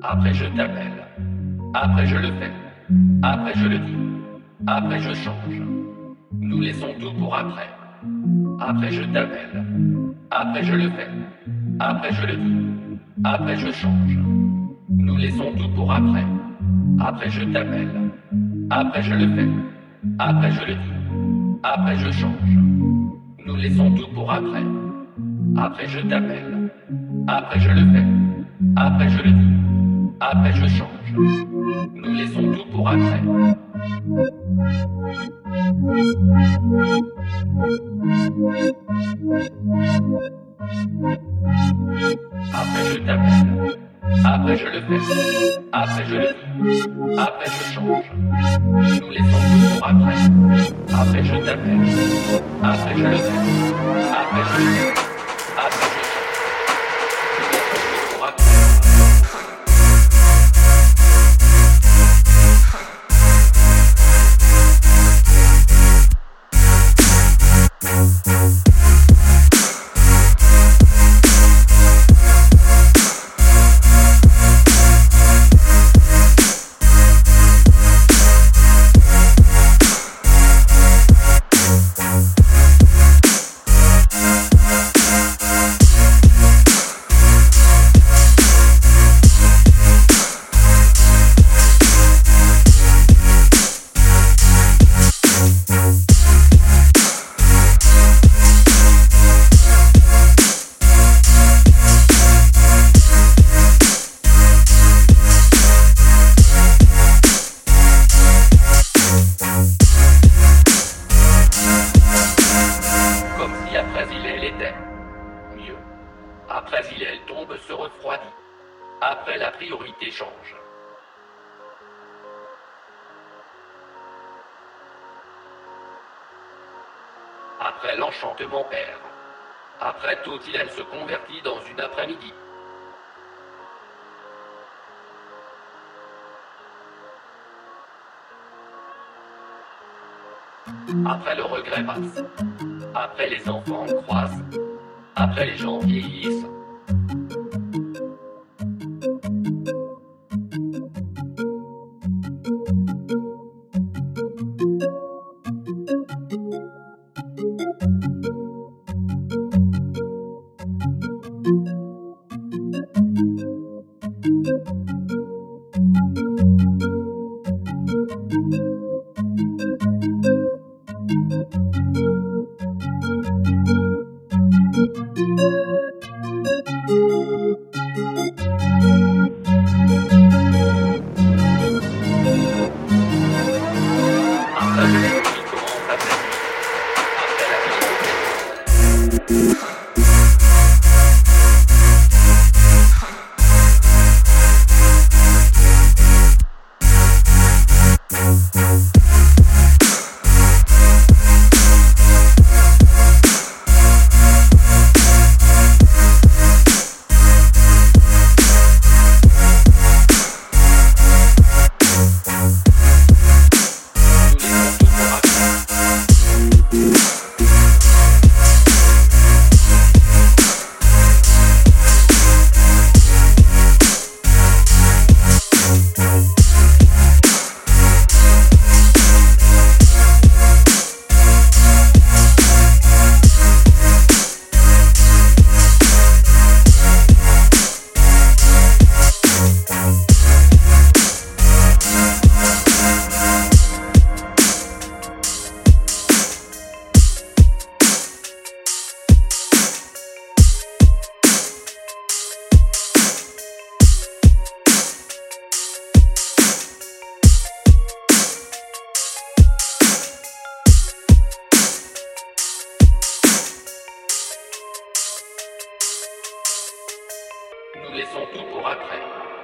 Après je t'appelle. Après je le fais. Après je le dis. Après je change. Nous laissons tout pour après. Après je t'appelle. Après je le fais. Après je le dis. Après je change. Nous laissons tout pour après. Après je t'appelle. Après je le fais. Après je le dis. Après je change. Nous laissons tout pour après. Après je t'appelle. Après je le fais. Après je le dis. Après je change. Nous laissons tout pour après. Après je t'appelle. Après je le fais. Après je le dis. Après je change. Nous laissons tout pour après. Après je t'appelle. Après je le fais. Après je le dis. Après je change. Nous laissons tout pour après. Après il elle tombe, se refroidit. Après la priorité change. Après l'enchantement perd. Après tout il elle se convertit dans une après-midi. Après le regret passe. Après les enfants croissent. Après les gens vieillissent. Nous laissons tout pour après.